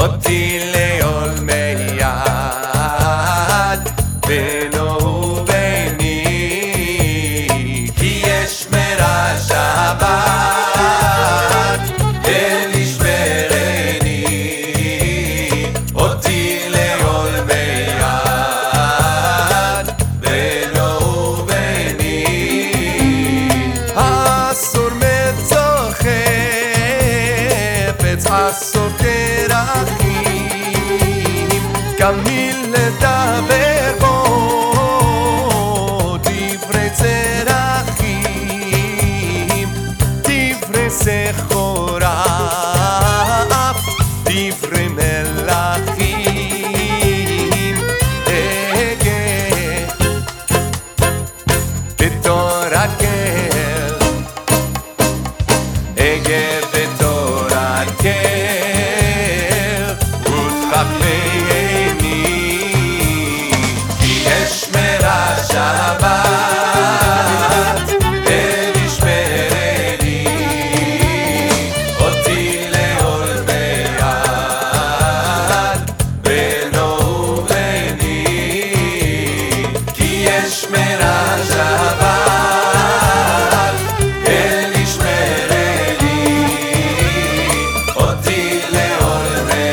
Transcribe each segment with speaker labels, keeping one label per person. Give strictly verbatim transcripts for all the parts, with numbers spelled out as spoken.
Speaker 1: אותי לעולמי יד בינו וביני, כי יש מרע שבת אל ישמרני, אותי לעולמי יד בינו וביני. אסור מצור חפץ, אסור כרכים, כמיל לדבר בו דברי צרכים, דברי סחורף, דברי מלכים. אגה בתורת קהל, אגה בתורת קהל, ותחפני, כי יש מרע שבת אל ישמרני, אותי לעולמי יד בינו וביני, כי יש מרע שבת אל ישמרני, אותי לעולמי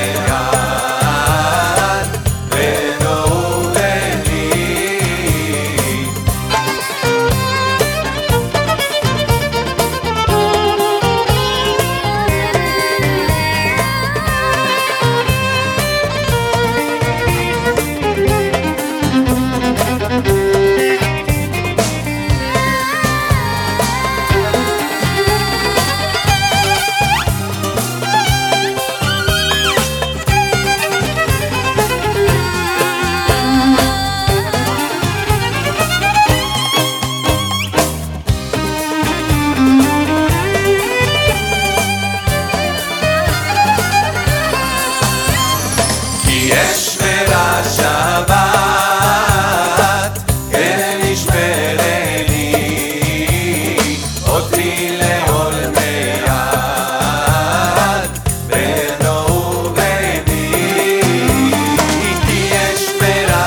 Speaker 1: יד בינו וביני. יש מרע שבת אל ישמרני, אותי לעולמי יד בינו וביני, כי יש מרע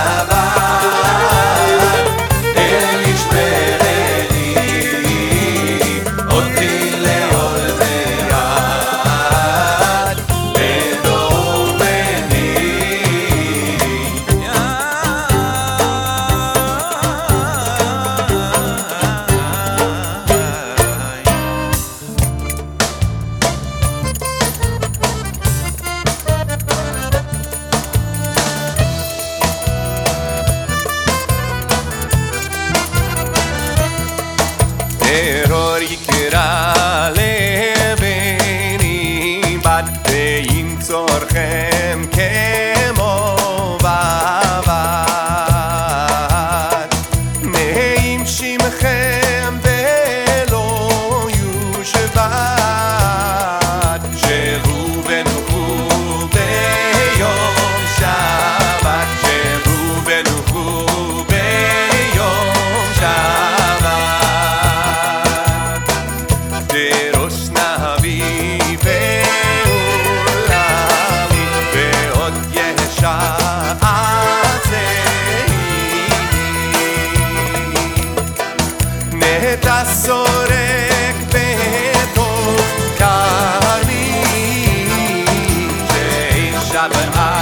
Speaker 1: שבת אל ישמרני, אותי לעולמי יד בינו וביני. טרור יקרא לבני, בת וימצורכם כמו בבת, נעים שמכם ולא יושבת, שבו ונוחו ביום שבת, שבו ונוחו ביום שבת. דרוש נביא ועולמי, ועוד ישעצני, נטע סורק בתוך כרמי, שאישה בארץ